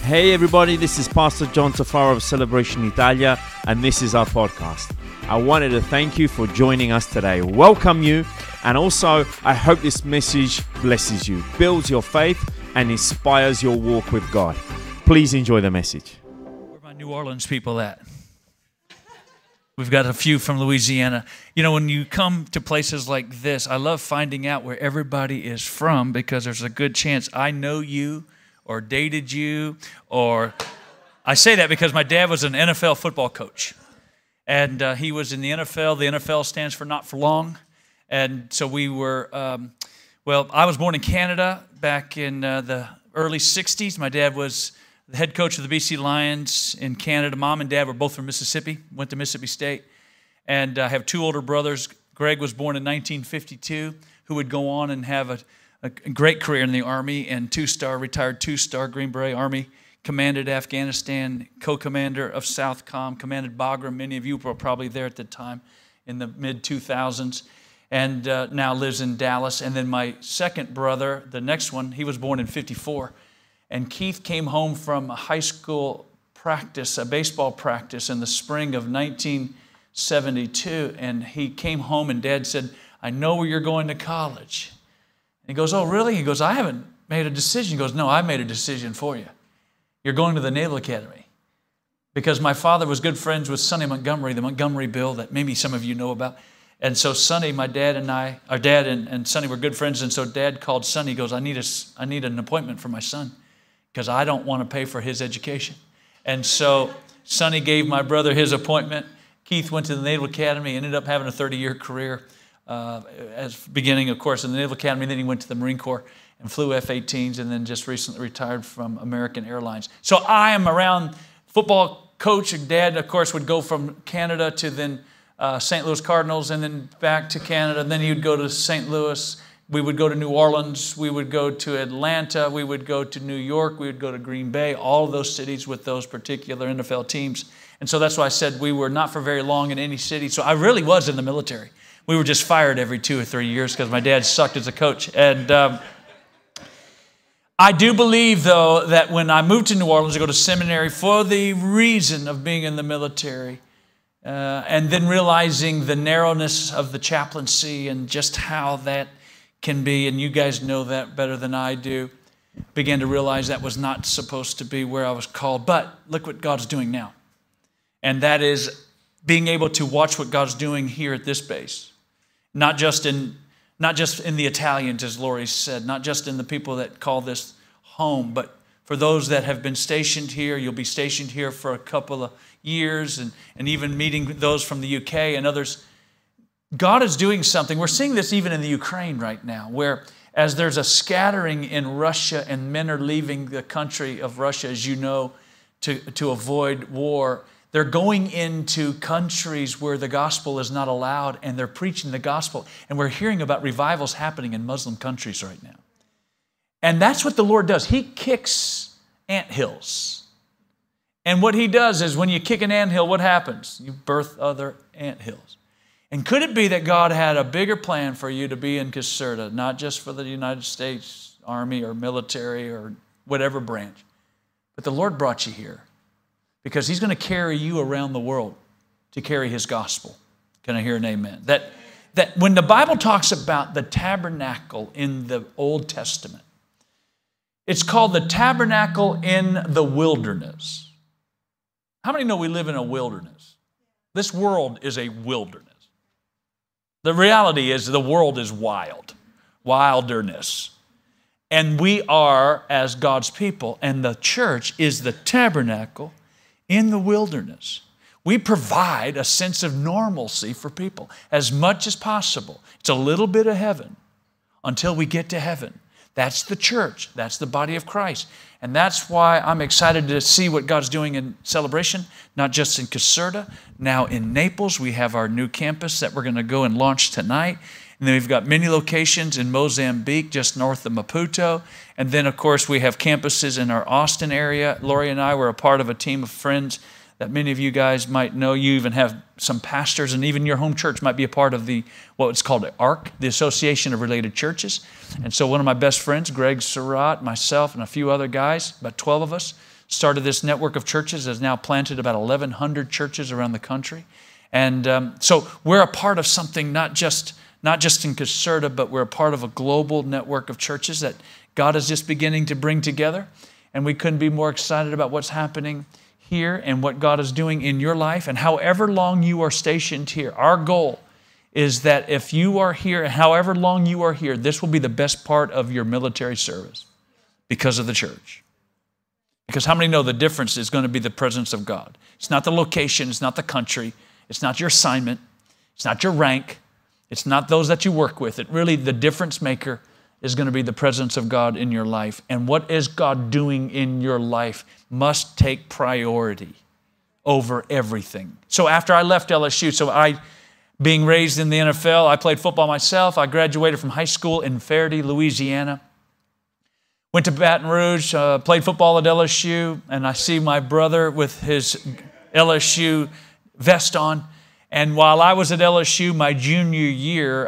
Hey everybody, this is Pastor John Tafaro of Celebration Italia, and this is our podcast. I wanted to thank you for joining us today, welcome you, and also I hope this message blesses you, builds your faith, and inspires your walk with God. Please enjoy the message. Where are my New Orleans people at? We've got a few from Louisiana. You know, when you come to places like this, I love finding out where everybody is from because there's a good chance I know you or dated you, or I say that because my dad was an NFL football coach. And he was in the NFL. The NFL stands for not for long. And so we were, I was born in Canada back in the early 60s. My dad was the head coach of the BC Lions in Canada. Mom and dad were both from Mississippi, went to Mississippi State. And I have two older brothers. Greg was born in 1952, who would go on and have a great career in the Army, and retired two-star Green Beret Army, commanded Afghanistan, co-commander of Southcom, commanded Bagram. Many of you were probably there at the time in the mid-2000s, and now lives in Dallas. And then my second brother, the next one, he was born in 54, and Keith came home from a high school practice, a baseball practice in the spring of 1972, and he came home and Dad said, "I know where you're going to college." He goes, "Oh, really?" He goes, "I haven't made a decision." He goes, "No, I made a decision for you. You're going to the Naval Academy." Because my father was good friends with Sonny Montgomery, the Montgomery Bill that maybe some of you know about. And so Sonny, my dad and our dad and Sonny were good friends. And so Dad called Sonny, goes, I need an appointment for my son because I don't want to pay for his education. And so Sonny gave my brother his appointment. Keith went to the Naval Academy, ended up having a 30-year career. As beginning, of course, in the Naval Academy. Then he went to the Marine Corps and flew F-18s, and then just recently retired from American Airlines. So I am around football coach. Dad, of course, would go from Canada to then St. Louis Cardinals, and then back to Canada. And then he would go to St. Louis. We would go to New Orleans. We would go to Atlanta. We would go to New York. We would go to Green Bay. All of those cities with those particular NFL teams. And so that's why I said we were not for very long in any city. So I really was in the military. We were just fired every 2 or 3 years because my dad sucked as a coach. And I do believe, though, that when I moved to New Orleans to go to seminary for the reason of being in the military, and then realizing the narrowness of the chaplaincy and just how that can be, and you guys know that better than I do, began to realize that was not supposed to be where I was called. But look what God's doing now. And that is being able to watch what God's doing here at this base. Not just in the Italians, as Lori said, not just in the people that call this home, but for those that have been stationed here. You'll be stationed here for a couple of years, and even meeting those from the UK and others. God is doing something. We're seeing this even in the Ukraine right now, where as there's a scattering in Russia and men are leaving the country of Russia, as you know, to avoid war. They're going into countries where the gospel is not allowed, and they're preaching the gospel. And we're hearing about revivals happening in Muslim countries right now. And that's what the Lord does. He kicks anthills. And what he does is when you kick an anthill, what happens? You birth other anthills. And could it be that God had a bigger plan for you to be in Caserta, not just for the United States Army or military or whatever branch, but the Lord brought you here because he's going to carry you around the world to carry his gospel. Can I hear an amen? That when the Bible talks about the tabernacle in the Old Testament, it's called the tabernacle in the wilderness. How many know we live in a wilderness? This world is a wilderness. The reality is the world is wilderness. And we are, as God's people, and the church is the tabernacle in the wilderness. We provide a sense of normalcy for people as much as possible. It's a little bit of heaven until we get to heaven. That's the church. That's the body of Christ. And that's why I'm excited to see what God's doing in Celebration, not just in Caserta, now in Naples. We have our new campus that we're going to go and launch tonight. And then we've got many locations in Mozambique, just north of Maputo. And then, of course, we have campuses in our Austin area. Lori and I were a part of a team of friends that many of you guys might know. You even have some pastors, and even your home church might be a part of what's called ARC, the Association of Related Churches. And so one of my best friends, Greg Surratt, myself, and a few other guys, about 12 of us, started this network of churches, has now planted about 1,100 churches around the country. And so we're a part of something not just in Caserta, but we're a part of a global network of churches that God is just beginning to bring together. And we couldn't be more excited about what's happening here and what God is doing in your life. And however long you are stationed here, our goal is that if you are here, and however long you are here, this will be the best part of your military service because of the church. Because how many know the difference is going to be the presence of God? It's not the location, it's not the country, it's not your assignment, it's not your rank, it's not those that you work with. It really, the difference maker is going to be the presence of God in your life. And what is God doing in your life must take priority over everything. So after I left LSU, being raised in the NFL, I played football myself. I graduated from high school in Ferdy, Louisiana. Went to Baton Rouge, played football at LSU, and I see my brother with his LSU vest on. And while I was at LSU my junior year,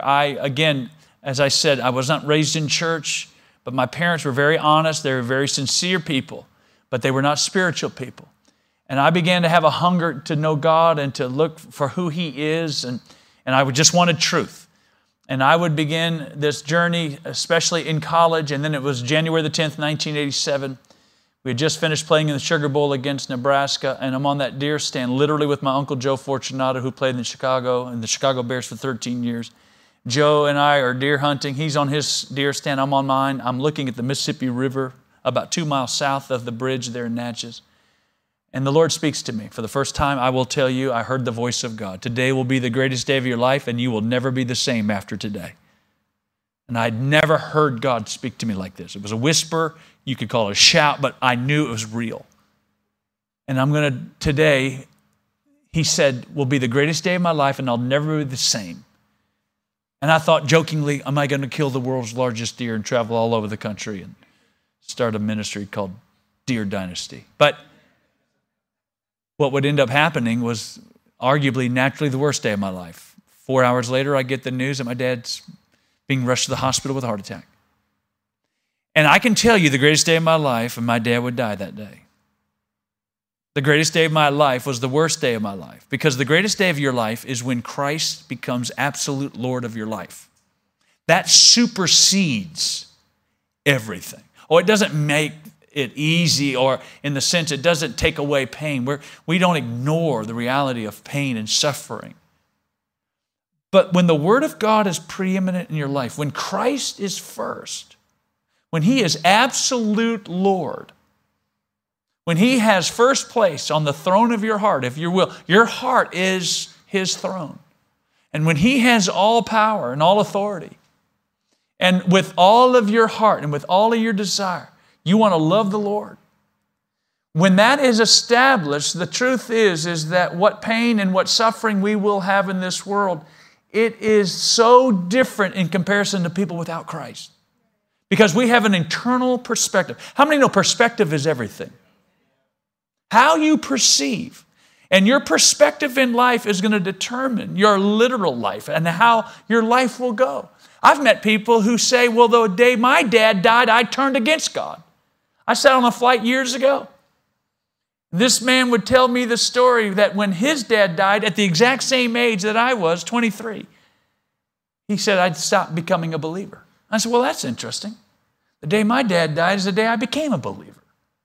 as I said, I was not raised in church, but my parents were very honest. They were very sincere people, but they were not spiritual people. And I began to have a hunger to know God and to look for who He is, and I just wanted truth. And I would begin this journey, especially in college, and then it was January the 10th, 1987. We had just finished playing in the Sugar Bowl against Nebraska, and I'm on that deer stand literally with my Uncle Joe Fortunato, who played in the Chicago Bears for 13 years. Joe and I are deer hunting. He's on his deer stand. I'm on mine. I'm looking at the Mississippi River about 2 miles south of the bridge there in Natchez. And the Lord speaks to me. For the first time, I will tell you, I heard the voice of God. Today will be the greatest day of your life, and you will never be the same after today. And I'd never heard God speak to me like this. It was a whisper. You could call it a shout, but I knew it was real. And today, He said, will be the greatest day of my life, and I'll never be the same. And I thought jokingly, am I going to kill the world's largest deer and travel all over the country and start a ministry called Deer Dynasty? But what would end up happening was arguably naturally the worst day of my life. 4 hours later, I get the news that my dad's being rushed to the hospital with a heart attack. And I can tell you the greatest day of my life, and my dad would die that day. The greatest day of my life was the worst day of my life, because the greatest day of your life is when Christ becomes absolute Lord of your life. That supersedes everything. Oh, it doesn't make it easy, or in the sense it doesn't take away pain. We don't ignore the reality of pain and suffering. But when the Word of God is preeminent in your life, when Christ is first, when He is absolute Lord, when He has first place on the throne of your heart, if you will, your heart is His throne. And when He has all power and all authority, and with all of your heart and with all of your desire, you want to love the Lord. When that is established, the truth is that what pain and what suffering we will have in this world, it is so different in comparison to people without Christ. Because we have an internal perspective. How many know perspective is everything? How you perceive. And your perspective in life is going to determine your literal life and how your life will go. I've met people who say, well, the day my dad died, I turned against God. I sat on a flight years ago. This man would tell me the story that when his dad died at the exact same age that I was, 23, he said, I'd stopped becoming a believer. I said, well, that's interesting. The day my dad died is the day I became a believer.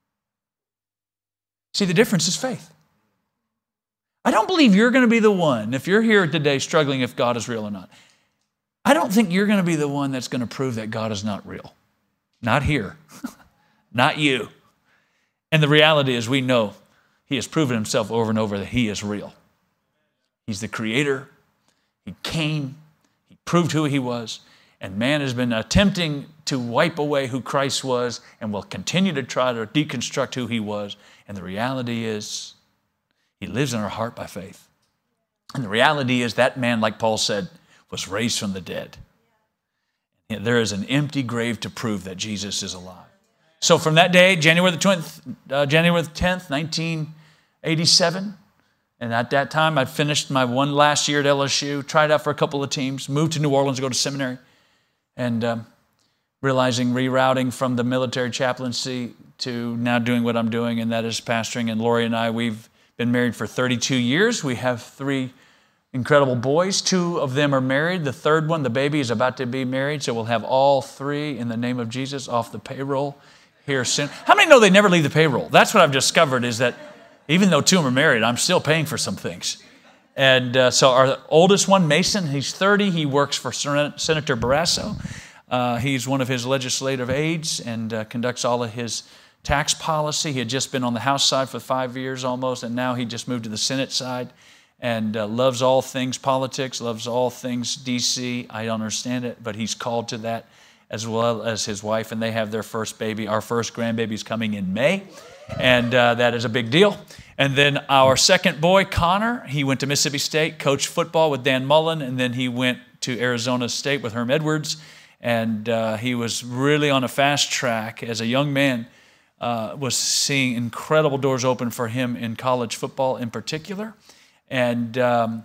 See, the difference is faith. I don't believe you're going to be the one, if you're here today struggling if God is real or not, I don't think you're going to be the one that's going to prove that God is not real. Not here. Not you. And the reality is we know He has proven Himself over and over that He is real. He's the Creator. He came. He proved who He was. And man has been attempting to wipe away who Christ was and will continue to try to deconstruct who He was. And the reality is He lives in our heart by faith. And the reality is that man, like Paul said, was raised from the dead. And there is an empty grave to prove that Jesus is alive. So from that day, January the 10th, 1987, 87. And at that time, I'd finished my one last year at LSU, tried out for a couple of teams, moved to New Orleans to go to seminary, and realizing rerouting from the military chaplaincy to now doing what I'm doing, and that is pastoring. And Lori and I, we've been married for 32 years. We have 3 incredible boys. 2 of them are married. The third one, the baby, is about to be married, so we'll have all 3 in the name of Jesus off the payroll here soon. How many know they never leave the payroll? That's what I've discovered, is that even though 2 of them are married, I'm still paying for some things. And so our oldest one, Mason, he's 30. He works for Senator Barrasso. He's one of his legislative aides and conducts all of his tax policy. He had just been on the House side for 5 years almost, and now he just moved to the Senate side and loves all things politics, loves all things D.C. I don't understand it, but he's called to that, as well as his wife, and they have their first baby. Our first grandbaby is coming in May. And that is a big deal. And then our second boy, Connor, he went to Mississippi State, coached football with Dan Mullen, and then he went to Arizona State with Herm Edwards. And he was really on a fast track as a young man, was seeing incredible doors open for him in college football in particular. And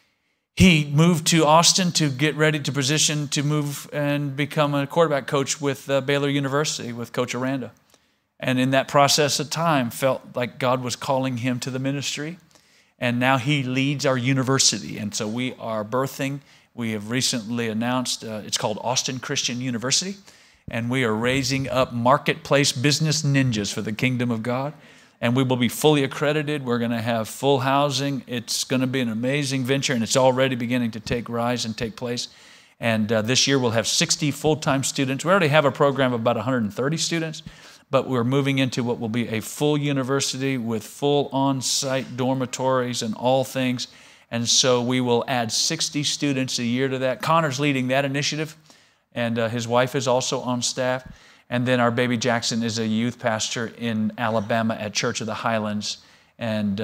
he moved to Austin to get ready to position to move and become a quarterback coach with Baylor University with Coach Aranda. And in that process of time, felt like God was calling him to the ministry. And now he leads our university. And so we are birthing. We have recently announced, it's called Austin Christian University. And we are raising up marketplace business ninjas for the kingdom of God. And we will be fully accredited. We're going to have full housing. It's going to be an amazing venture, and it's already beginning to take rise and take place. And this year we'll have 60 full-time students. We already have a program of about 130 students. But we're moving into what will be a full university with full on-site dormitories and all things. And so we will add 60 students a year to that. Connor's leading that initiative, and his wife is also on staff. And then our baby Jackson is a youth pastor in Alabama at Church of the Highlands. And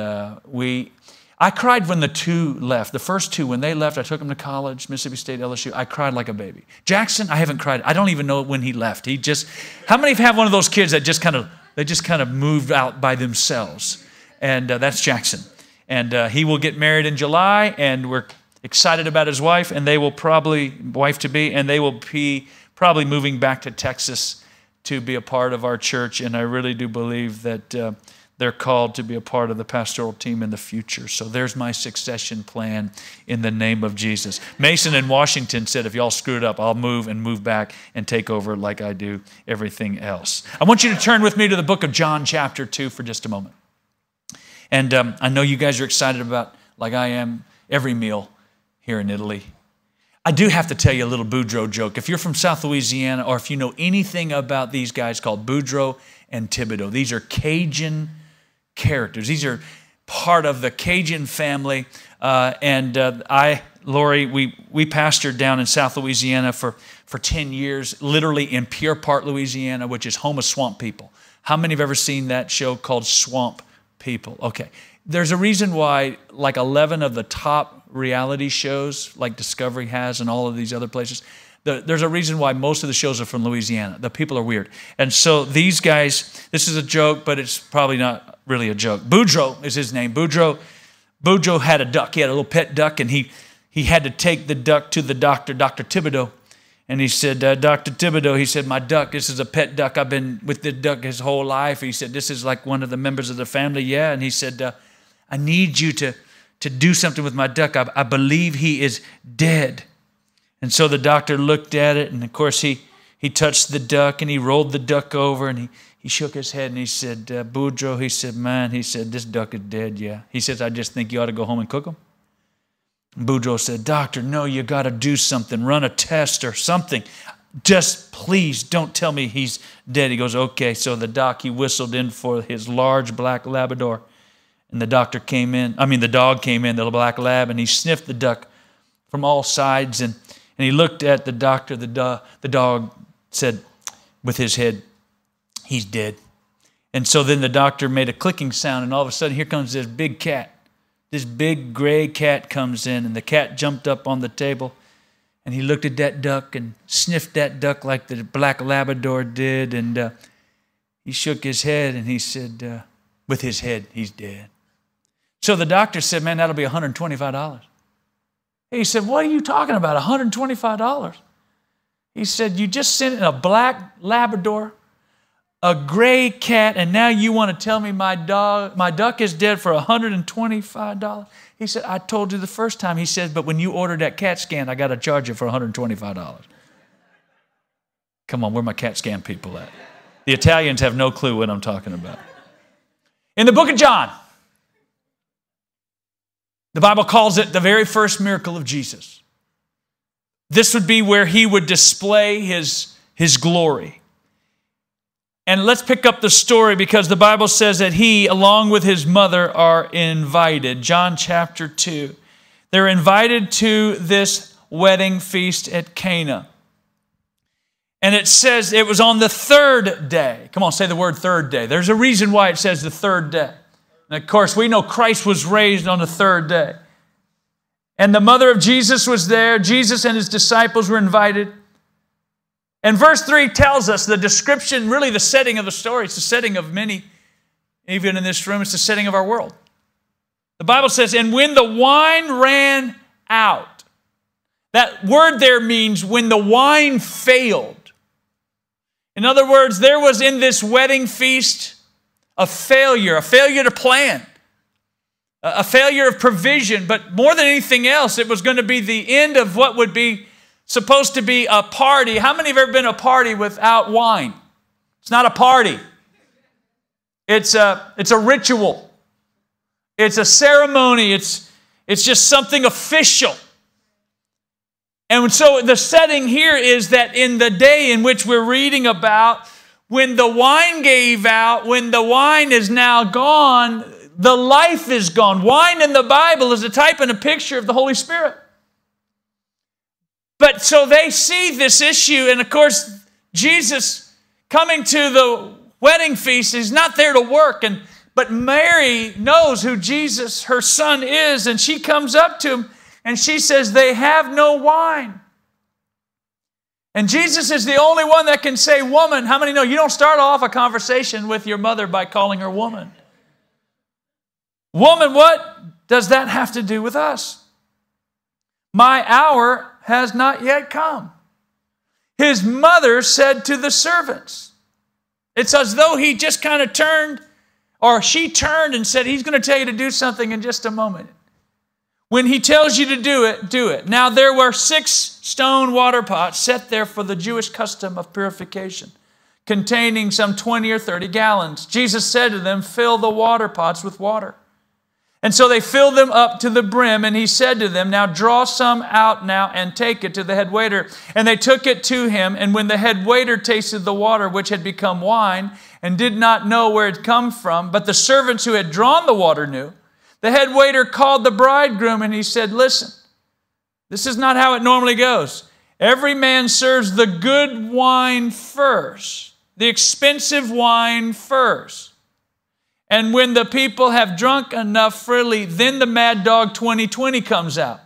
I cried when the 2 left. The first 2, when they left, I took them to college, Mississippi State, LSU. I cried like a baby. Jackson, I haven't cried. I don't even know when he left. How many have one of those kids that just kind of moved out by themselves? And that's Jackson. And he will get married in July, and we're excited about his wife, and they will probably, wife-to-be, and they will be probably moving back to Texas to be a part of our church. And I really do believe that they're called to be a part of the pastoral team in the future. So there's my succession plan in the name of Jesus. Mason in Washington said, if y'all screw it up, I'll move back and take over like I do everything else. I want you to turn with me to the book of John chapter 2 for just a moment. And I know you guys are excited about, like I am, every meal here in Italy. I do have to tell you a little Boudreaux joke. If you're from South Louisiana, or if you know anything about these guys called Boudreaux and Thibodeau, these are Cajun characters. These are part of the Cajun family. Lori, we pastored down in South Louisiana for 10 years, literally in Pierre Part, Louisiana, which is home of swamp people. How many have ever seen that show called Swamp People? Okay. There's a reason why like 11 of the top reality shows like Discovery has and all of these other places, there's a reason why most of the shows are from Louisiana. The people are weird. And so these guys, this is a joke, but it's probably not really a joke. Boudreaux is his name. Boudreaux had a duck. He had a little pet duck, and he had to take the duck to the doctor, Dr. Thibodeau. And he said, Dr. Thibodeau, he said, my duck, this is a pet duck. I've been with the duck his whole life. He said, this is like one of the members of the family. Yeah. And he said, I need you to do something with my duck. I believe he is dead. And so the doctor looked at it, and of course he touched the duck, and he rolled the duck over, and he shook his head, and he said, Boudreaux, he said, man, he said, this duck is dead, yeah. He says, I just think you ought to go home and cook him. Boudreaux said, doctor, no, you got to do something, run a test or something. Just please don't tell me he's dead. He goes, okay. So the doc, he whistled in for his large black Labrador, and the dog came in, the black lab, and he sniffed the duck from all sides, and he looked at the doctor. The dog said with his head, he's dead. And so then the doctor made a clicking sound, and all of a sudden here comes this big cat. This big gray cat comes in, and the cat jumped up on the table, and he looked at that duck and sniffed that duck like the black Labrador did, and he shook his head, and he said, with his head, he's dead. So the doctor said, man, that'll be $125. He said, what are you talking about, $125? He said, you just sent in a black Labrador, a gray cat, and now you want to tell me my duck is dead for $125? He said, I told you the first time. He said, but when you ordered that CAT scan, I got to charge you for $125. Come on, where are my CAT scan people at? The Italians have no clue what I'm talking about. In the book of John, the Bible calls it the very first miracle of Jesus. This would be where he would display his glory. And let's pick up the story because the Bible says that he, along with his mother, are invited. John chapter 2. They're invited to this wedding feast at Cana. And it says it was on the third day. Come on, say the word third day. There's a reason why it says the third day. And of course, we know Christ was raised on the third day. And the mother of Jesus was there. Jesus and his disciples were invited. And verse 3 tells us the description, really the setting of the story. It's the setting of many, even in this room, it's the setting of our world. The Bible says, and when the wine ran out, that word there means when the wine failed. In other words, there was in this wedding feast a failure to plan, a failure of provision, but more than anything else, it was going to be the end of what would be supposed to be a party. How many have ever been to a party without wine? It's not a party. It's a ritual. It's a ceremony. It's just something official. And so the setting here is that in the day in which we're reading about, when the wine gave out, when the wine is now gone, the life is gone. Wine in the Bible is a type and a picture of the Holy Spirit. But so they see this issue, and of course, Jesus coming to the wedding feast, he's not there to work, but Mary knows who Jesus, her son, is, and she comes up to him, and she says, they have no wine. And Jesus is the only one that can say, woman. How many know you don't start off a conversation with your mother by calling her woman? Woman, what does that have to do with us? My hour has not yet come. His mother said to the servants. It's as though he just kind of turned, or she turned and said, he's going to tell you to do something in just a moment. When he tells you to do it, do it. Now there were 6 stone water pots set there for the Jewish custom of purification, containing some 20 or 30 gallons. Jesus said to them, fill the water pots with water. And so they filled them up to the brim, and he said to them, now draw some out now and take it to the head waiter. And they took it to him, and when the head waiter tasted the water, which had become wine, and did not know where it come from, but the servants who had drawn the water knew, the head waiter called the bridegroom, and he said, listen, this is not how it normally goes. Every man serves the good wine first, the expensive wine first. And when the people have drunk enough freely, then the Mad Dog 2020 comes out.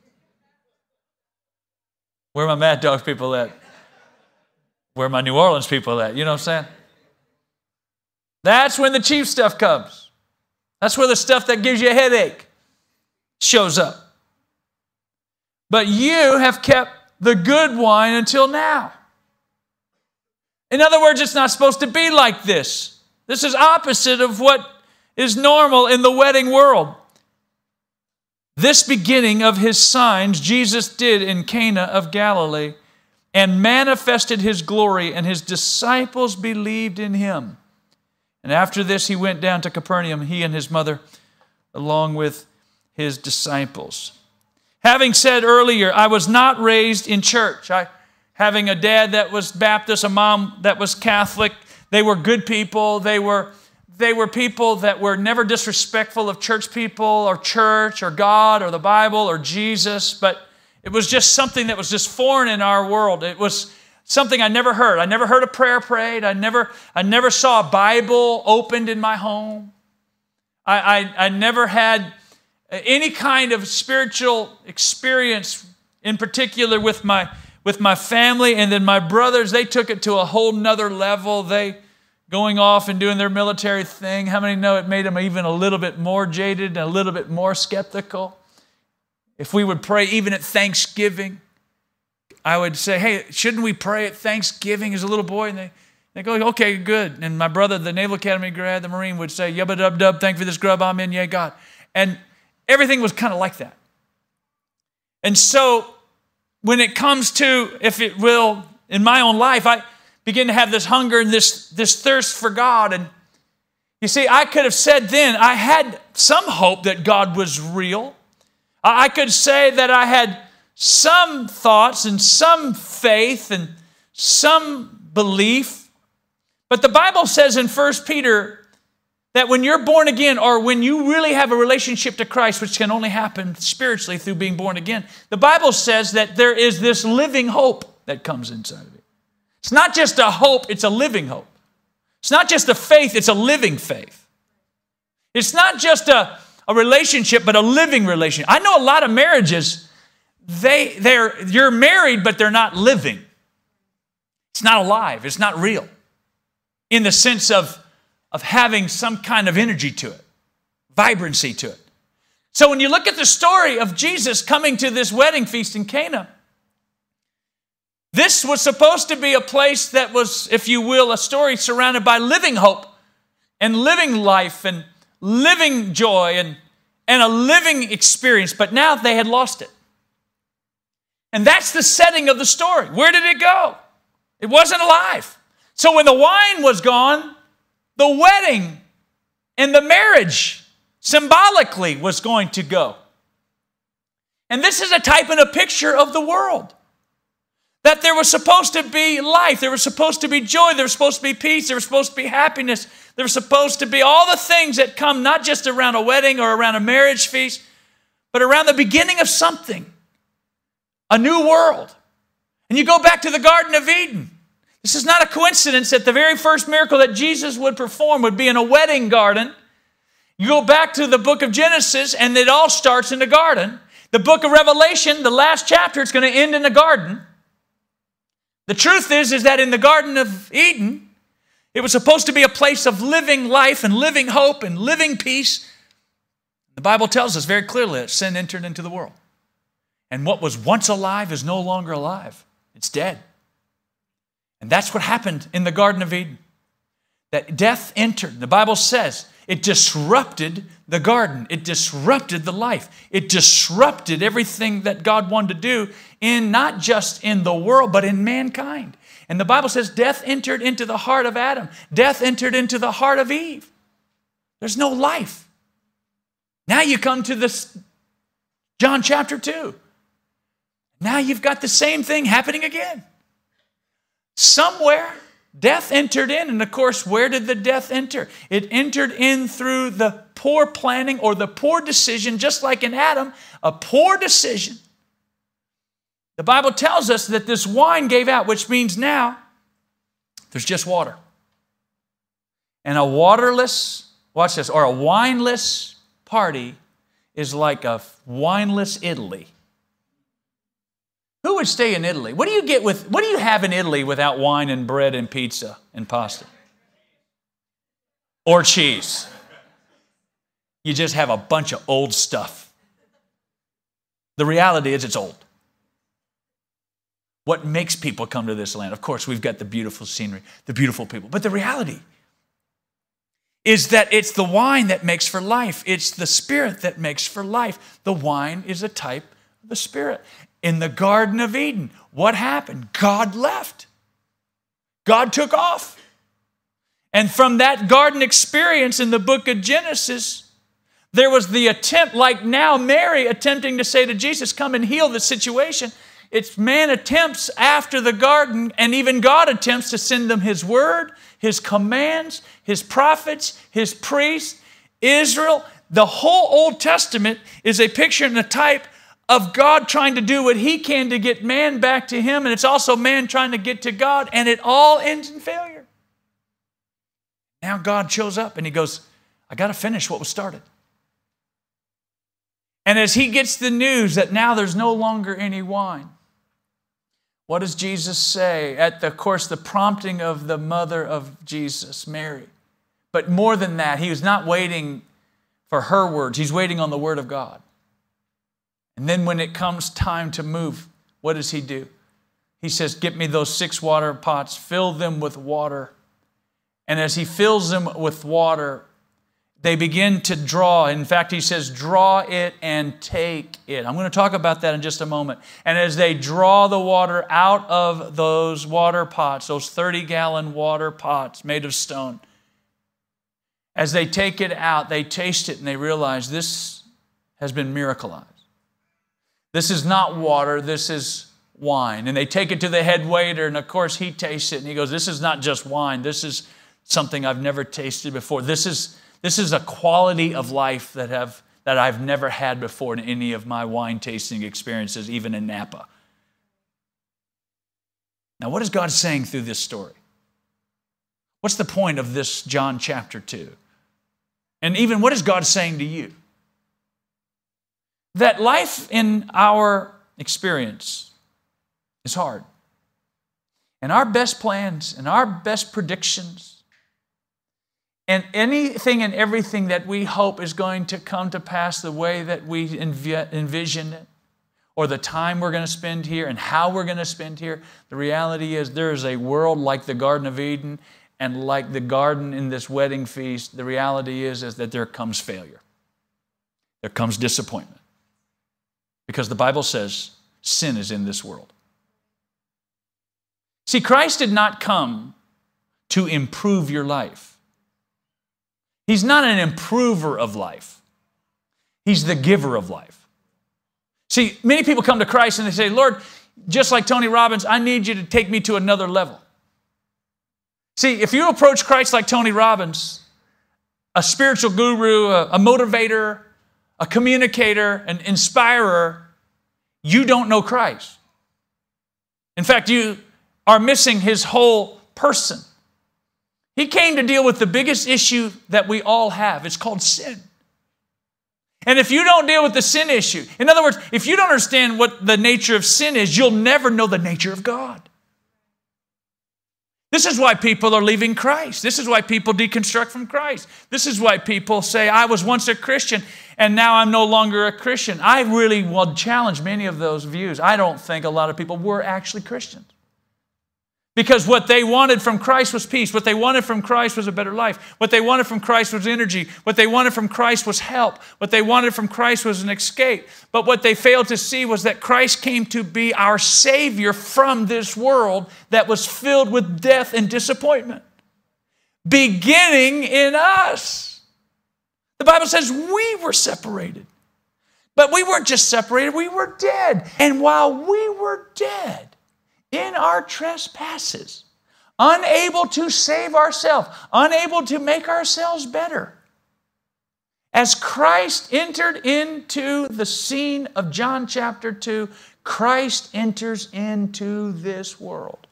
Where are my Mad Dog people at? Where are my New Orleans people at? You know what I'm saying? That's when the cheap stuff comes. That's where the stuff that gives you a headache shows up. But you have kept the good wine until now. In other words, it's not supposed to be like this. This is opposite of what is normal in the wedding world. This beginning of his signs Jesus did in Cana of Galilee and manifested his glory, and his disciples believed in him. And after this, he went down to Capernaum, he and his mother, along with his disciples. Having said earlier, I was not raised in church. Having a dad that was Baptist, a mom that was Catholic, they were good people. They were people that were never disrespectful of church people or church or God or the Bible or Jesus, but it was just something that was just foreign in our world. It was something I never heard. I never heard a prayer prayed. I never saw a Bible opened in my home. I never had any kind of spiritual experience, in particular with my family. And then my brothers, they took it to a whole nother level. They going off and doing their military thing. How many know it made them even a little bit more jaded and a little bit more skeptical? If we would pray even at Thanksgiving, I would say, hey, shouldn't we pray at Thanksgiving as a little boy? And they go, okay, good. And my brother, the Naval Academy grad, the Marine, would say, yubba dub dub, thank you for this grub, amen, yea, God. And everything was kind of like that. And so when it comes to, if it will, in my own life, I begin to have this hunger and this thirst for God. And you see, I could have said then, I had some hope that God was real. I could say that I had some thoughts and some faith and some belief. But the Bible says in 1 Peter that when you're born again, or when you really have a relationship to Christ, which can only happen spiritually through being born again, the Bible says that there is this living hope that comes inside of it. It's not just a hope, it's a living hope. It's not just a faith, it's a living faith. It's not just a relationship, but a living relationship. I know a lot of marriages, you're married, but they're not living. It's not alive, it's not real. In the sense of having some kind of energy to it, vibrancy to it. So when you look at the story of Jesus coming to this wedding feast in Cana, this was supposed to be a place that was, if you will, a story surrounded by living hope and living life and living joy and a living experience, but now they had lost it. And that's the setting of the story. Where did it go? It wasn't alive. So when the wine was gone, the wedding and the marriage symbolically was going to go. And this is a type and a picture of the world. That there was supposed to be life, there was supposed to be joy, there was supposed to be peace, there was supposed to be happiness, there was supposed to be all the things that come not just around a wedding or around a marriage feast, but around the beginning of something, a new world. And you go back to the Garden of Eden. This is not a coincidence that the very first miracle that Jesus would perform would be in a wedding garden. You go back to the book of Genesis, and it all starts in the garden. The book of Revelation, the last chapter, it's going to end in the garden. The truth is that in the Garden of Eden, it was supposed to be a place of living life and living hope and living peace. The Bible tells us very clearly that sin entered into the world. And what was once alive is no longer alive. It's dead. And that's what happened in the Garden of Eden. That death entered. The Bible says it disrupted the garden. It disrupted the life. It disrupted everything that God wanted to do in not just in the world, but in mankind. And the Bible says death entered into the heart of Adam. Death entered into the heart of Eve. There's no life. Now you come to this John chapter 2. Now you've got the same thing happening again. Somewhere, death entered in. And of course, where did the death enter? It entered in through the poor planning or the poor decision, just like in Adam, a poor decision. The Bible tells us that this wine gave out, which means now there's just water. And a waterless, watch this, or a wineless party is like a wineless Italy. Who would stay in Italy? What do you have in Italy without wine and bread and pizza and pasta? Or cheese. You just have a bunch of old stuff. The reality is it's old. What makes people come to this land? Of course, we've got the beautiful scenery, the beautiful people. But the reality is that it's the wine that makes for life. It's the Spirit that makes for life. The wine is a type of the Spirit. In the Garden of Eden, what happened? God left. God took off. And from that garden experience in the book of Genesis, there was the attempt, like now Mary attempting to say to Jesus, come and heal the situation. It's man attempts after the garden, and even God attempts to send them His word, His commands, His prophets, His priests, Israel. The whole Old Testament is a picture and a type of God trying to do what He can to get man back to Him, and it's also man trying to get to God, and it all ends in failure. Now God shows up and He goes, I got to finish what was started. And as He gets the news that now there's no longer any wine, What does Jesus say? At the prompting of the mother of Jesus, Mary. But more than that, he was not waiting for her words. He's waiting on the word of God. And then when it comes time to move, what does he do? He says, get me those 6 water pots, fill them with water. And as he fills them with water, they begin to draw. In fact, he says, draw it and take it. I'm going to talk about that in just a moment. And as they draw the water out of those water pots, those 30-gallon water pots made of stone, as they take it out, they taste it and they realize this has been miracleized. This is not water, this is wine. And they take it to the head waiter, and of course he tastes it and he goes, this is not just wine, this is something I've never tasted before. This is a quality of life that I've never had before in any of my wine tasting experiences, even in Napa. Now, what is God saying through this story? What's the point of this John chapter 2? And even what is God saying to you? That life in our experience is hard. And our best plans and our best predictions and anything and everything that we hope is going to come to pass the way that we envision it, or the time we're going to spend here and how we're going to spend here, the reality is there is a world like the Garden of Eden and like the garden in this wedding feast. The reality is that there comes failure. There comes disappointment. Because the Bible says sin is in this world. See, Christ did not come to improve your life. He's not an improver of life. He's the giver of life. See, many people come to Christ and they say, Lord, just like Tony Robbins, I need you to take me to another level. See, if you approach Christ like Tony Robbins, a spiritual guru, a motivator, a communicator, an inspirer, you don't know Christ. In fact, you are missing his whole person. He came to deal with the biggest issue that we all have. It's called sin. And if you don't deal with the sin issue, in other words, if you don't understand what the nature of sin is, you'll never know the nature of God. This is why people are leaving Christ. This is why people deconstruct from Christ. This is why people say, I was once a Christian and now I'm no longer a Christian. I really will challenge many of those views. I don't think a lot of people were actually Christians. Because what they wanted from Christ was peace. What they wanted from Christ was a better life. What they wanted from Christ was energy. What they wanted from Christ was help. What they wanted from Christ was an escape. But what they failed to see was that Christ came to be our Savior from this world that was filled with death and disappointment, beginning in us. The Bible says we were separated. But we weren't just separated, we were dead. And while we were dead, in our trespasses, unable to save ourselves, unable to make ourselves better. As Christ entered into the scene of John chapter 2, Christ enters into this world.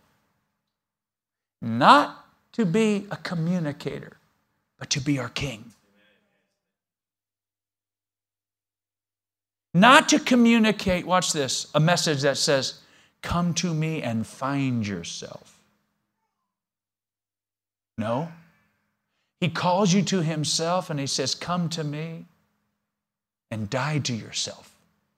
Not to be a communicator, but to be our King. Not to communicate, watch this, a message that says, come to me and find yourself. No. He calls you to himself and he says, come to me and die to yourself.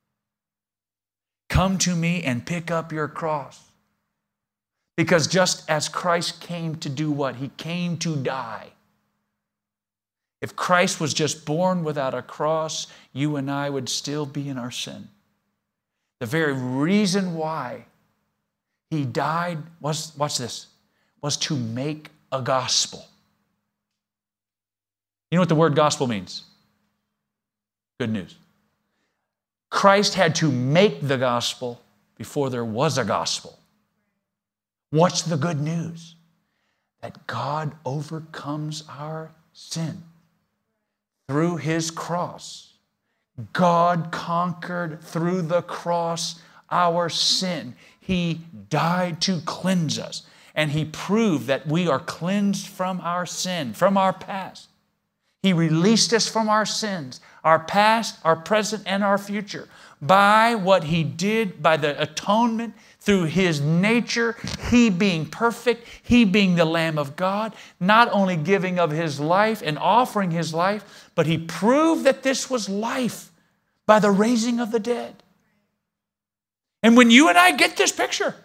Come to me and pick up your cross. Because just as Christ came to do what? He came to die. If Christ was just born without a cross, you and I would still be in our sin. The very reason why he died was, watch this, was to make a gospel. You know what the word gospel means? Good news. Christ had to make the gospel before there was a gospel. What's the good news? That God overcomes our sin through his cross. God conquered through the cross our sin. He died to cleanse us. And he proved that we are cleansed from our sin, from our past. He released us from our sins, our past, our present, and our future, by what He did, by the atonement, through His nature, He being perfect, He being the Lamb of God, not only giving of His life and offering His life, but He proved that this was life by the raising of the dead. And when you and I get this picture,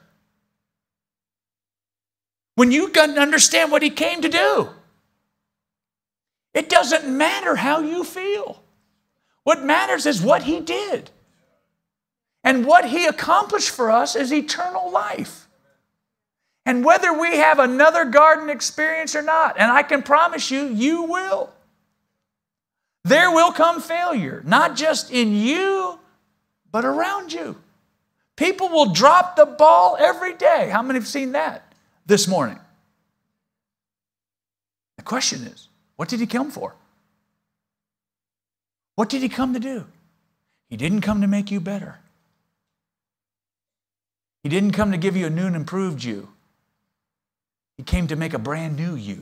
when you understand what He came to do, it doesn't matter how you feel. What matters is what He did. And what He accomplished for us is eternal life. And whether we have another garden experience or not, and I can promise you, you will. There will come failure, not just in you, but around you. People will drop the ball every day. How many have seen that this morning? The question is, what did He come for? What did He come to do? He didn't come to make you better. He didn't come to give you a new and improved you. He came to make a brand new you.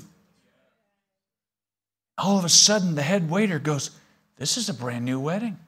All of a sudden, the head waiter goes, this is a brand new wedding.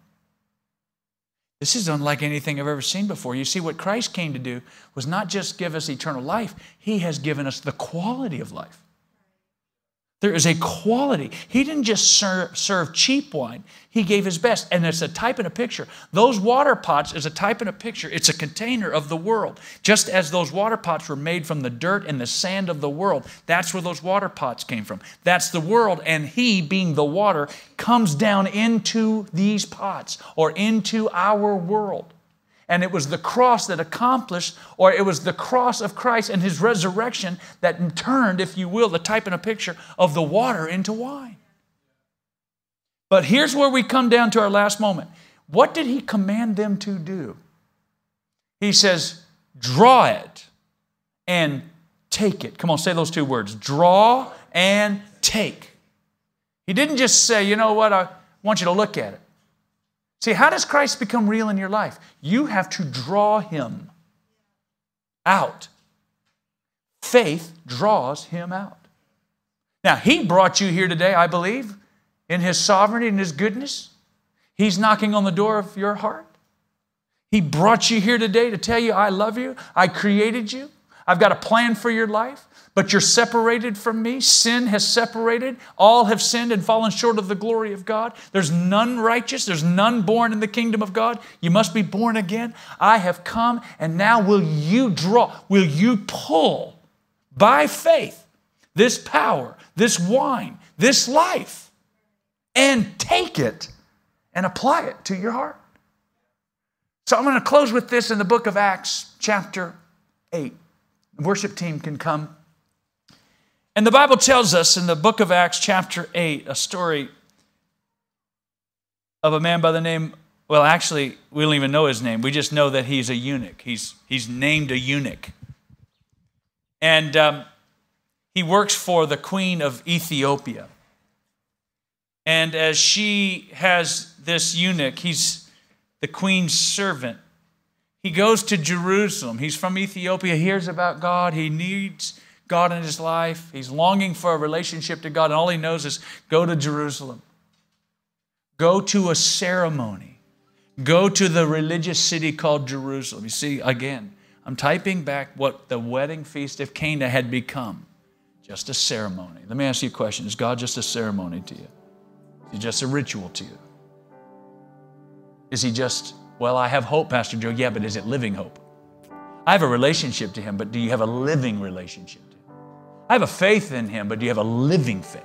This is unlike anything I've ever seen before. You see, what Christ came to do was not just give us eternal life. He has given us the quality of life. There is a quality. He didn't just serve cheap wine. He gave His best. And it's a type and a picture. Those water pots is a type and a picture. It's a container of the world. Just as those water pots were made from the dirt and the sand of the world, that's where those water pots came from. That's the world. And He, being the water, comes down into these pots or into our world. And it was the cross that accomplished, or it was the cross of Christ and His resurrection that turned, if you will, the type and a picture of the water into wine. But here's where we come down to our last moment. What did He command them to do? He says, draw it and take it. Come on, say those two words. Draw and take. He didn't just say, you know what, I want you to look at it. See, how does Christ become real in your life? You have to draw Him out. Faith draws Him out. Now, He brought you here today, I believe, in His sovereignty and His goodness. He's knocking on the door of your heart. He brought you here today to tell you, I love you. I created you. I've got a plan for your life. But you're separated from me. Sin has separated. All have sinned and fallen short of the glory of God. There's none righteous. There's none born in the kingdom of God. You must be born again. I have come, and now will you draw, will you pull by faith this power, this wine, this life, and take it and apply it to your heart. So I'm going to close with this in the book of Acts, chapter 8. The worship team can come. And the Bible tells us in the book of Acts, chapter 8, a story of a man by the name, well, actually, we don't even know his name. We just know that he's a eunuch. He's named a eunuch. And he works for the queen of Ethiopia. And as she has this eunuch, he's the queen's servant. He goes to Jerusalem. He's from Ethiopia, hears about God. He needs God in his life. He's longing for a relationship to God, and all he knows is go to Jerusalem. Go to a ceremony. Go to the religious city called Jerusalem. You see, again, I'm typing back what the wedding feast of Cana had become. Just a ceremony. Let me ask you a question. Is God just a ceremony to you? Is He just a ritual to you? Is He just, well, I have hope, Pastor Joe. Yeah, but is it living hope? I have a relationship to Him, but do you have a living relationship to Him? I have a faith in Him, but do you have a living faith?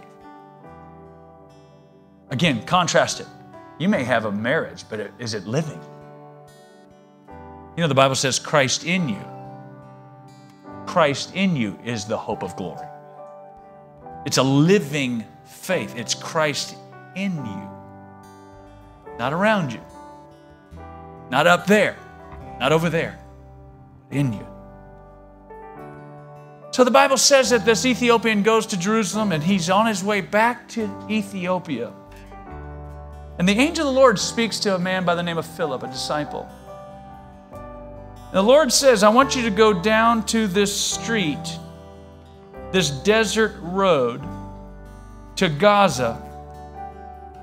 Again, contrast it. You may have a marriage, but is it living? You know, the Bible says Christ in you. Christ in you is the hope of glory. It's a living faith. It's Christ in you. Not around you. Not up there. Not over there. In you. So the Bible says that this Ethiopian goes to Jerusalem and he's on his way back to Ethiopia. And the angel of the Lord speaks to a man by the name of Philip, a disciple. And the Lord says, I want you to go down to this street, this desert road to Gaza,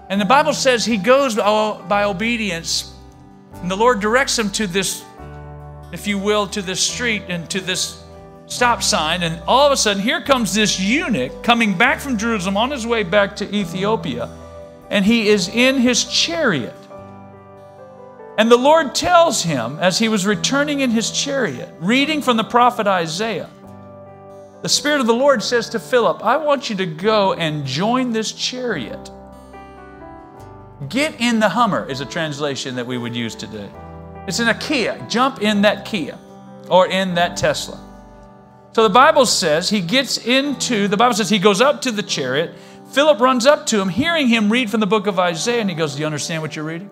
And the Bible says he goes by obedience, and the Lord directs him to this, if you will, to this street and to this stop sign. And all of a sudden, here comes this eunuch coming back from Jerusalem on his way back to Ethiopia, and he is in his chariot. And the Lord tells him, as he was returning in his chariot, reading from the prophet Isaiah, the Spirit of the Lord says to Philip, I want you to go and join this chariot. Get in the Hummer is a translation that we would use today. It's in a Kia. Jump in that Kia or in that Tesla. So the Bible says he goes up to the chariot. Philip runs up to him, hearing him read from the book of Isaiah, and he goes, do you understand what you're reading?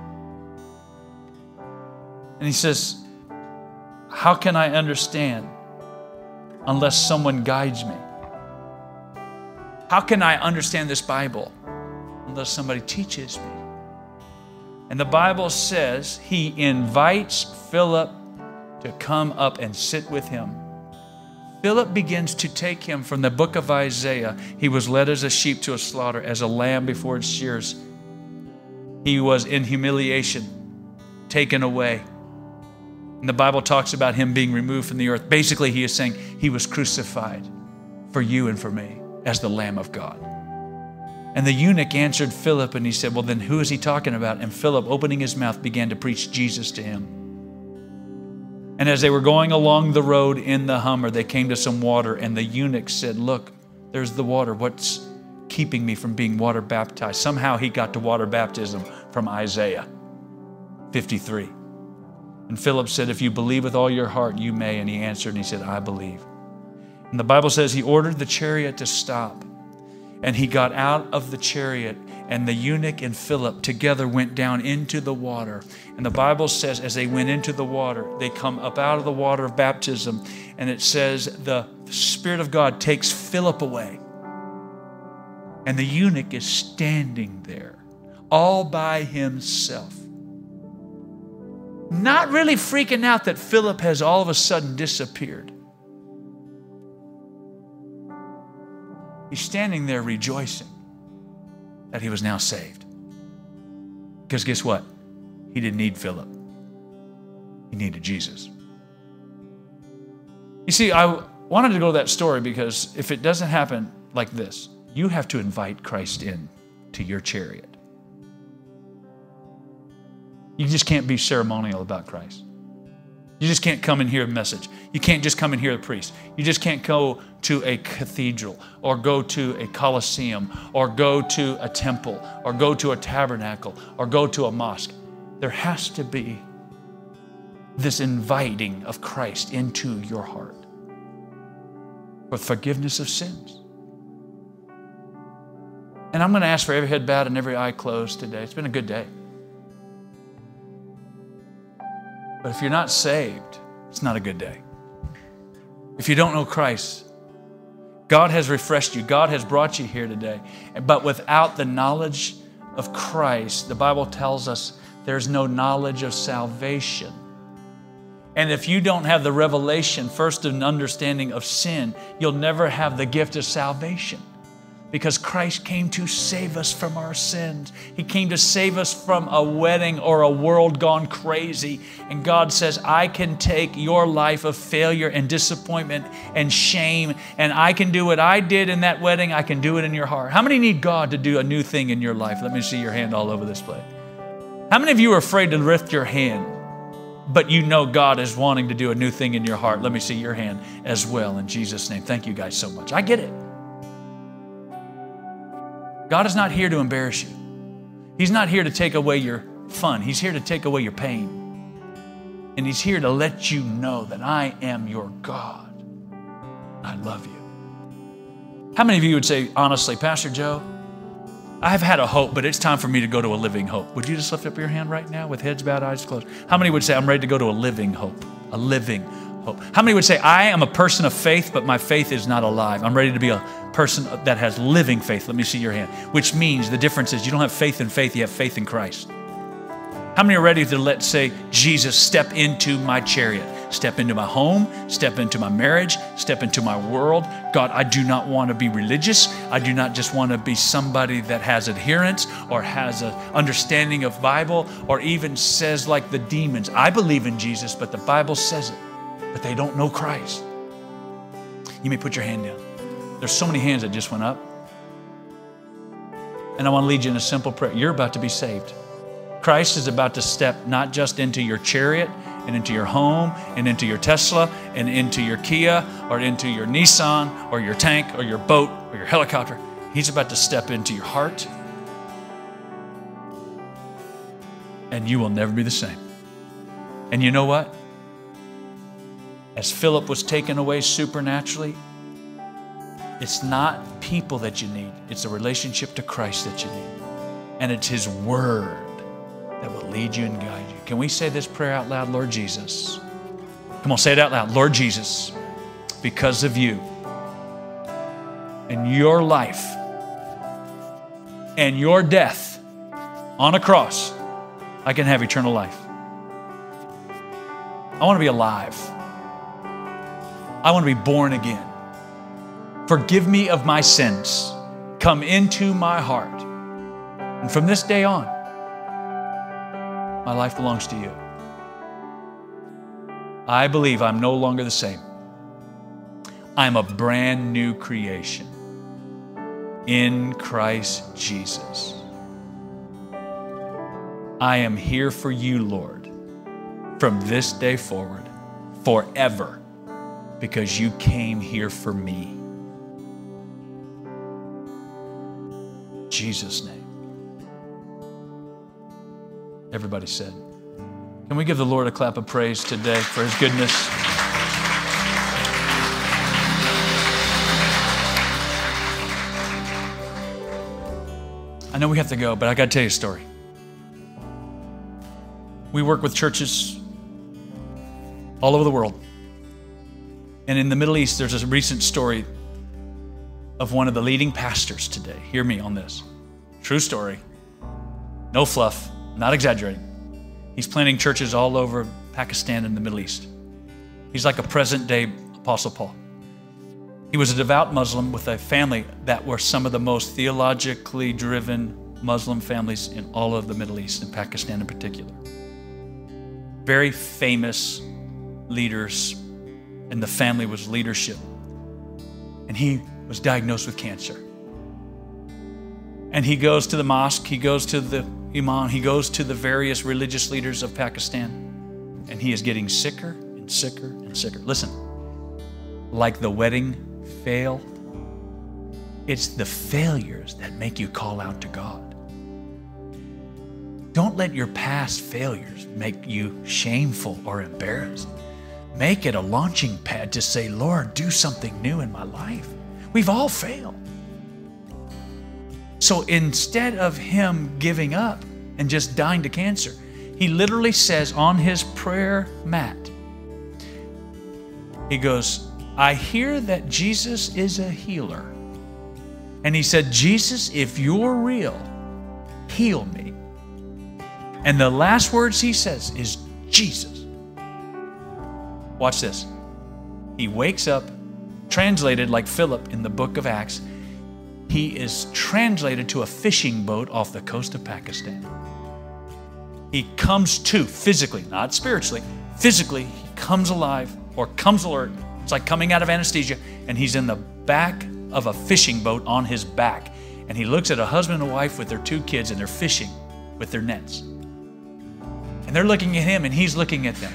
And he says, how can I understand unless someone guides me? How can I understand this Bible unless somebody teaches me? And the Bible says he invites Philip to come up and sit with him. Philip begins to take him from the book of Isaiah. He was led as a sheep to a slaughter, as a lamb before its shears. He was in humiliation, taken away. And the Bible talks about him being removed from the earth. Basically, he is saying he was crucified for you and for me as the Lamb of God. And the eunuch answered Philip, and he said, well, then who is he talking about? And Philip, opening his mouth, began to preach Jesus to him. And as they were going along the road in the Hummer, they came to some water, and the eunuch said, look, there's the water. What's keeping me from being water baptized? Somehow he got to water baptism from Isaiah 53. And Philip said, if you believe with all your heart, you may. And he answered, and he said, I believe. And the Bible says he ordered the chariot to stop. And he got out of the chariot, and the eunuch and Philip together went down into the water. And the Bible says as they went into the water, they come up out of the water of baptism. And it says the Spirit of God takes Philip away. And the eunuch is standing there all by himself, not really freaking out that Philip has all of a sudden disappeared. He's standing there rejoicing that he was now saved. Because guess what? He didn't need Philip. He needed Jesus. You see, I wanted to go to that story because if it doesn't happen like this, you have to invite Christ in to your chariot. You just can't be ceremonial about Christ. You just can't come and hear a message. You can't just come and hear a priest. You just can't go to a cathedral or go to a coliseum or go to a temple or go to a tabernacle or go to a mosque. There has to be this inviting of Christ into your heart for forgiveness of sins. And I'm going to ask for every head bowed and every eye closed today. It's been a good day. But if you're not saved, it's not a good day. If you don't know Christ, God has refreshed you. God has brought you here today. But without the knowledge of Christ, the Bible tells us there's no knowledge of salvation. And if you don't have the revelation, first an understanding of sin, you'll never have the gift of salvation. Because Christ came to save us from our sins. He came to save us from a wedding or a world gone crazy. And God says, I can take your life of failure and disappointment and shame, and I can do what I did in that wedding. I can do it in your heart. How many need God to do a new thing in your life? Let me see your hand all over this place. How many of you are afraid to lift your hand, but you know God is wanting to do a new thing in your heart? Let me see your hand as well in Jesus' name. Thank you guys so much. I get it. God is not here to embarrass you. He's not here to take away your fun. He's here to take away your pain. And He's here to let you know that I am your God. I love you. How many of you would say, honestly, Pastor Joe, I've had a hope, but it's time for me to go to a living hope? Would you just lift up your hand right now with heads bowed, eyes closed? How many would say, I'm ready to go to a living hope? A living hope. How many would say, I am a person of faith, but my faith is not alive? I'm ready to be a person that has living faith. Let me see your hand. Which means the difference is you don't have faith in faith, you have faith in Christ. How many are ready to say, Jesus, step into my chariot? step into my home, step into my marriage, step into my world. God, I do not want to be religious. I do not just want to be somebody that has adherence or has an understanding of Bible or even says like the demons, I believe in Jesus, but the Bible says it, but they don't know Christ. You may put your hand down. There's so many hands that just went up. And I want to lead you in a simple prayer. You're about to be saved. Christ is about to step not just into your chariot and into your home and into your Tesla and into your Kia or into your Nissan or your tank or your boat or your helicopter. He's about to step into your heart, and you will never be the same. And you know what? As Philip was taken away supernaturally, it's not people that you need. It's a relationship to Christ that you need. And it's His Word that will lead you and guide you. Can we say this prayer out loud? Lord Jesus. Come on, say it out loud. Lord Jesus, because of you and your life and your death on a cross, I can have eternal life. I want to be alive. I want to be born again. Forgive me of my sins. Come into my heart. And from this day on, my life belongs to you. I believe I'm no longer the same. I'm a brand new creation in Christ Jesus. I am here for you, Lord, from this day forward, forever, because you came here for me. In Jesus' name. Everybody said. Can we give the Lord a clap of praise today for His goodness? I know we have to go, but I got to tell you a story. We work with churches all over the world. And in the Middle East, there's a recent story of one of the leading pastors today. Hear me on this. True story. No fluff. Not exaggerating. He's planting churches all over Pakistan and the Middle East. He's like a present-day Apostle Paul. He was a devout Muslim with a family that were some of the most theologically driven Muslim families in all of the Middle East, and Pakistan in particular. Very famous leaders, and the family was leadership. And he was diagnosed with cancer. And he goes to the mosque, he goes to the imam, he goes to the various religious leaders of Pakistan, and he is getting sicker and sicker and sicker. Listen, like the wedding fail, it's the failures that make you call out to God. Don't let your past failures make you shameful or embarrassed. Make it a launching pad to say, Lord, do something new in my life. We've all failed. So instead of him giving up and just dying to cancer, he literally says on his prayer mat, he goes, I hear that Jesus is a healer. And he said, Jesus, if you're real, heal me. And the last words he says is Jesus. Watch this. He wakes up, translated like Philip in the book of Acts. He is translated to a fishing boat off the coast of Pakistan. He comes to physically, not spiritually, physically, he comes alive or comes alert. It's like coming out of anesthesia, and he's in the back of a fishing boat on his back. And he looks at a husband and wife with their 2 kids, and they're fishing with their nets. And they're looking at him, and he's looking at them.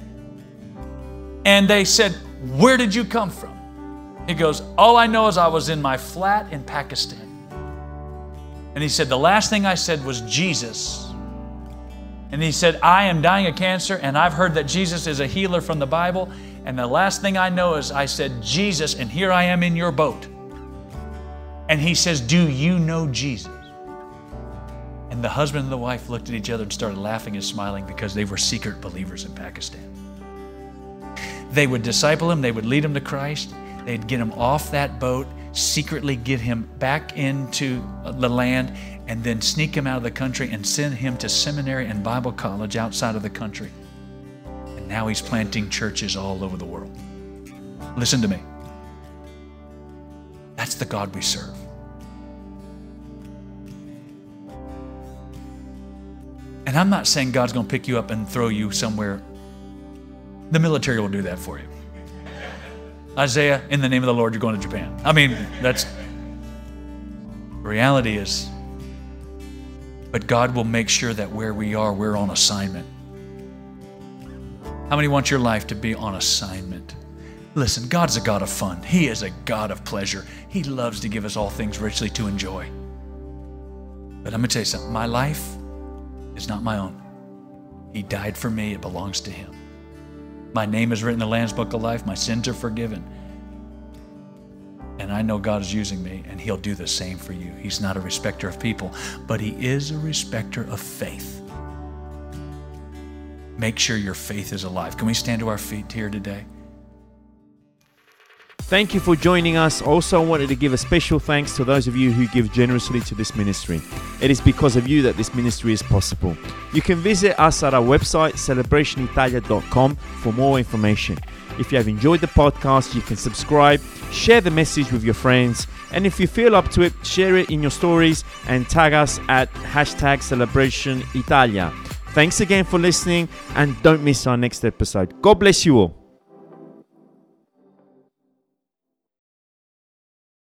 And they said, where did you come from? He goes, all I know is I was in my flat in Pakistan. And he said, the last thing I said was Jesus. And he said, I am dying of cancer, and I've heard that Jesus is a healer from the Bible. And the last thing I know is I said, Jesus, and here I am in your boat. And he says, do you know Jesus? And the husband and the wife looked at each other and started laughing and smiling because they were secret believers in Pakistan. They would disciple him, they would lead him to Christ, they'd get him off that boat, secretly get him back into the land, and then sneak him out of the country and send him to seminary and Bible college outside of the country. And And now he's planting churches all over the world. Listen to me. That's the God we serve. And I'm not saying God's going to pick you up and throw you somewhere. The military will do that for you. Isaiah, in the name of the Lord, you're going to Japan. I mean, that's, the reality is, but God will make sure that where we are, we're on assignment. How many want your life to be on assignment? Listen, God's a God of fun. He is a God of pleasure. He loves to give us all things richly to enjoy. But I'm going to tell you something. My life is not my own. He died for me. It belongs to him. My name is written in the Lamb's Book of Life. My sins are forgiven. And I know God is using me, and he'll do the same for you. He's not a respecter of people, but he is a respecter of faith. Make sure your faith is alive. Can we stand to our feet here today? Thank you for joining us. Also, I wanted to give a special thanks to those of you who give generously to this ministry. It is because of you that this ministry is possible. You can visit us at our website, celebrationitalia.com, for more information. If you have enjoyed the podcast, you can subscribe, share the message with your friends, and if you feel up to it, share it in your stories and tag us at #CelebrationItalia. Thanks again for listening, and don't miss our next episode. God bless you all.